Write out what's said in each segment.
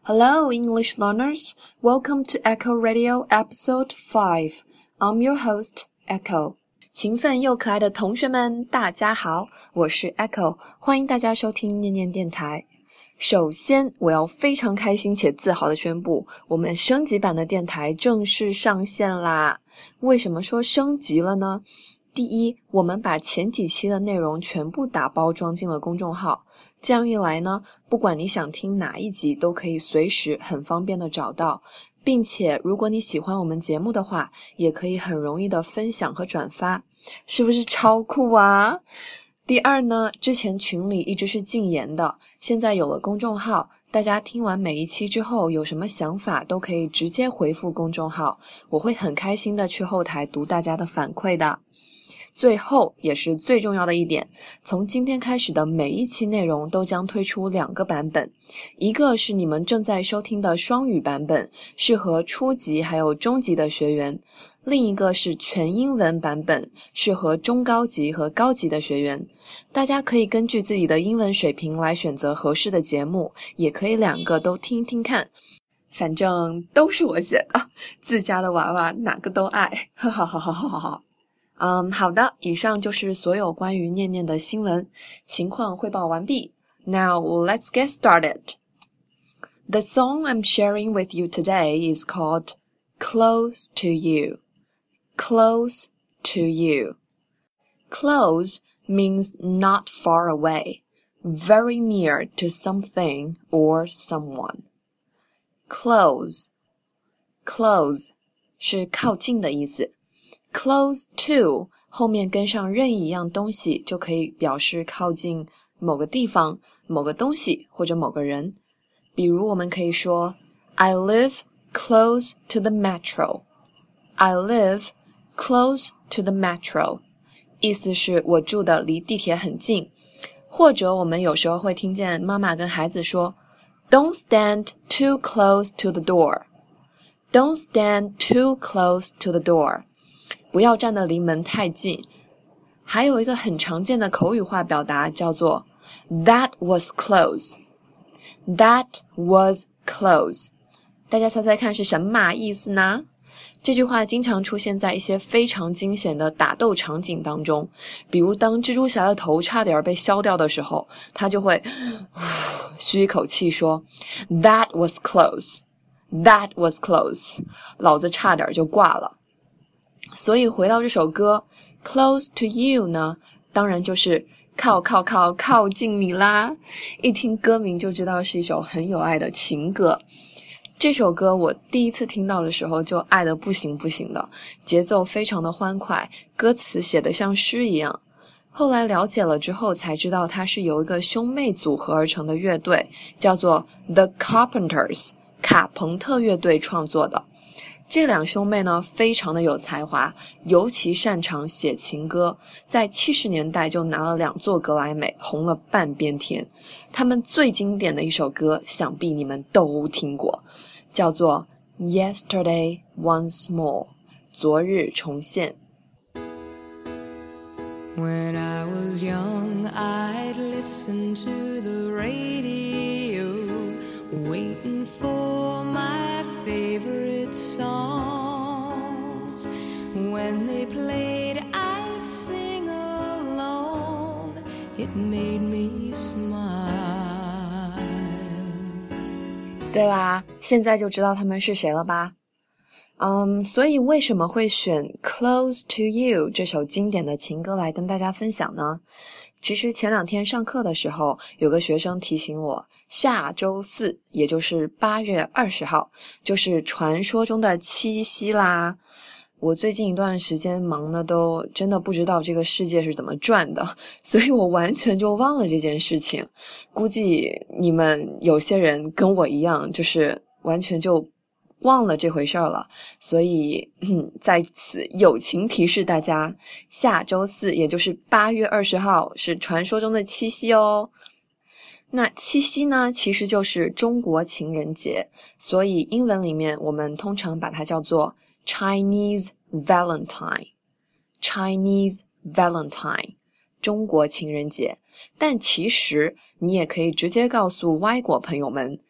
Hello, English learners. Welcome to Echo Radio Episode 5. I'm your host, Echo. 勤奋又可爱的同学们，大家好，我是 Echo， 欢迎大家收听念念电台。首先，我要非常开心且自豪地宣布，我们升级版的电台正式上线啦！为什么说升级了呢？第一，我们把前几期的内容全部打包装进了公众号，这样一来呢，不管你想听哪一集都可以随时很方便的找到，并且如果你喜欢我们节目的话，也可以很容易的分享和转发，是不是超酷啊？第二呢，之前群里一直是禁言的，现在有了公众号，大家听完每一期之后有什么想法都可以直接回复公众号，我会很开心的去后台读大家的反馈的。最后也是最重要的一点，从今天开始的每一期内容都将推出2个版本，一个是你们正在收听的双语版本，适合初级还有中级的学员，另一个是全英文版本，适合中高级和高级的学员。大家可以根据自己的英文水平来选择合适的节目，也可以2个都听听看，反正都是我写的，自家的娃娃哪个都爱，哈哈哈哈哈哈。好的，以上就是所有关于念念的新闻，情况汇报完毕。Now let's get started. The song I'm sharing with you today is called Close to You. Close to You. Close means not far away, very near to something or someone. Close 是靠近的意思。Close to 后面跟上任意一样东西，就可以表示靠近某个地方、某个东西或者某个人。比如我们可以说 I live close to the metro. I live close to the metro. 意思是我住的离地铁很近。或者我们有时候会听见妈妈跟孩子说 Don't stand too close to the door. Don't stand too close to the door.不要站得离门太近。还有一个很常见的口语化表达叫做 That was close. That was close. 大家猜猜看是什么意思呢？这句话经常出现在一些非常惊险的打斗场景当中，比如当蜘蛛侠的头差点被削掉的时候，他就会吁一口气说 That was close. That was close. 老子差点就挂了。所以回到这首歌 Close to You 呢，当然就是靠近你啦。一听歌名就知道是一首很有爱的情歌。这首歌我第一次听到的时候就爱得不行不行的，节奏非常的欢快，歌词写得像诗一样。后来了解了之后才知道它是由一个兄妹组合而成的乐队，叫做 The Carpenters 卡朋特乐队创作的。这2兄妹呢非常的有才华，尤其擅长写情歌，在70年代就拿了2座格莱美，红了半边天。他们最经典的一首歌想必你们都听过，叫做 Yesterday Once More 昨日重现。 When I was young, I'd listen to the radio, waiting for my favorite songs. When they played, I'd sing along. It made me smile. 对啦，现在就知道他们是谁了吧？所以为什么会选 Close to You 这首经典的情歌来跟大家分享呢？其实前2天上课的时候，有个学生提醒我，下周4，也就是8月20号，就是传说中的七夕啦。我最近一段时间忙的都真的不知道这个世界是怎么转的，所以我完全就忘了这件事情。估计你们有些人跟我一样，就是完全就忘了这回事儿了，所以在此友情提示大家，下周4也就是8月20号是传说中的七夕哦。那七夕呢，其实就是中国情人节，所以英文里面我们通常把它叫做 Chinese Valentine. Chinese Valentine 中国情人节。但其实你也可以直接告诉外国朋友们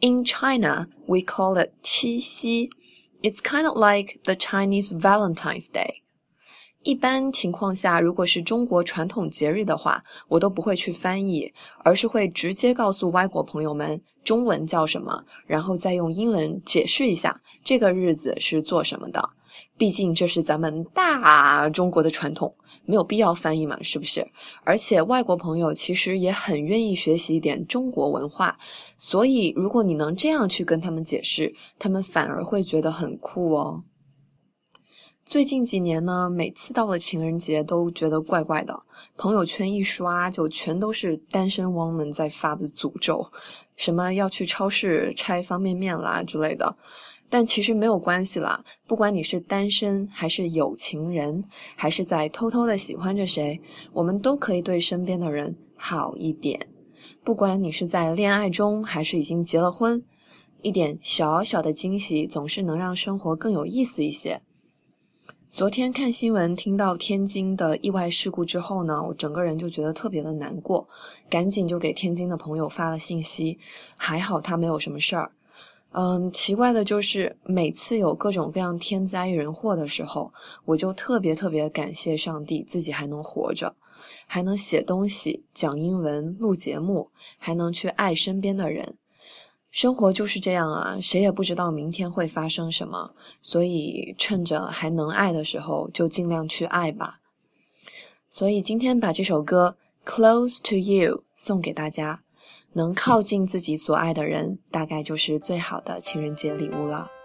In China, we call it 七夕. It's kind of like the Chinese Valentine's Day. 一般情况下，如果是中国传统节日的话，我都不会去翻译，而是会直接告诉外国朋友们中文叫什么，然后再用英文解释一下这个日子是做什么的。毕竟这是咱们大中国的传统，没有必要翻译嘛，是不是？而且外国朋友其实也很愿意学习一点中国文化，所以如果你能这样去跟他们解释，他们反而会觉得很酷哦。最近几年呢，每次到了情人节都觉得怪怪的，朋友圈一刷就全都是单身汪们在发的诅咒，什么要去超市拆方便面啦之类的。但其实没有关系啦，不管你是单身还是有情人，还是在偷偷的喜欢着谁，我们都可以对身边的人好一点。不管你是在恋爱中还是已经结了婚，一点小小的惊喜总是能让生活更有意思一些。昨天看新闻听到天津的意外事故之后呢，我整个人就觉得特别的难过，赶紧就给天津的朋友发了信息，还好他没有什么事儿。奇怪的就是每次有各种各样天灾人祸的时候，我就特别感谢上帝自己还能活着，还能写东西、讲英文、录节目，还能去爱身边的人。生活就是这样啊，谁也不知道明天会发生什么，所以趁着还能爱的时候就尽量去爱吧。所以今天把这首歌 Close to You 送给大家，能靠近自己所爱的人，大概就是最好的情人节礼物了。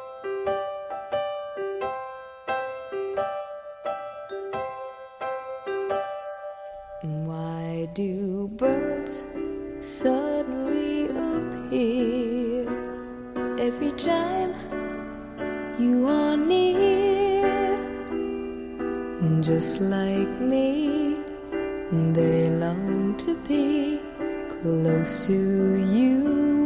Why do birds suddenly appear every time you are near? Just like me, they long to be close to you.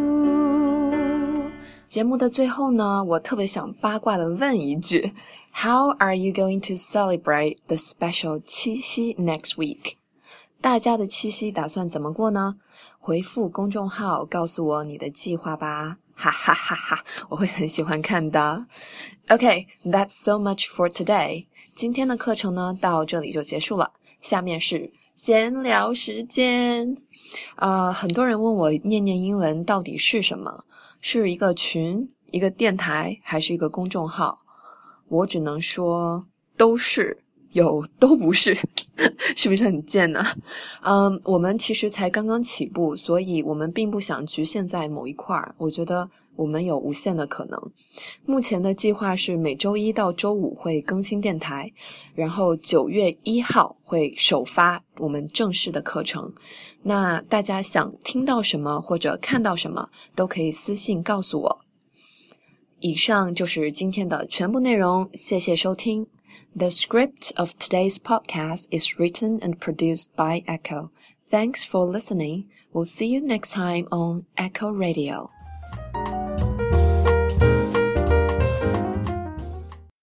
节目的最后呢，我特别想八卦的问一句 How are you going to celebrate the special 七夕 next week? 大家的七夕打算怎么过呢？回复公众号告诉我你的计划吧，哈哈哈哈，我会很喜欢看的。Okay, that's so much for today. 今天的课程呢，到这里就结束了。下面是闲聊时间。很多人问我念念英文到底是什么？是一个群、一个电台，还是一个公众号？我只能说都是。有都不是是不是很贱呢？我们其实才刚刚起步，所以我们并不想局限在某一块，我觉得我们有无限的可能。目前的计划是每周一到周五会更新电台，然后9月1号会首发我们正式的课程。那大家想听到什么或者看到什么都可以私信告诉我。以上就是今天的全部内容，谢谢收听。The script of today's podcast is written and produced by Echo. Thanks for listening. We'll see you next time on Echo Radio.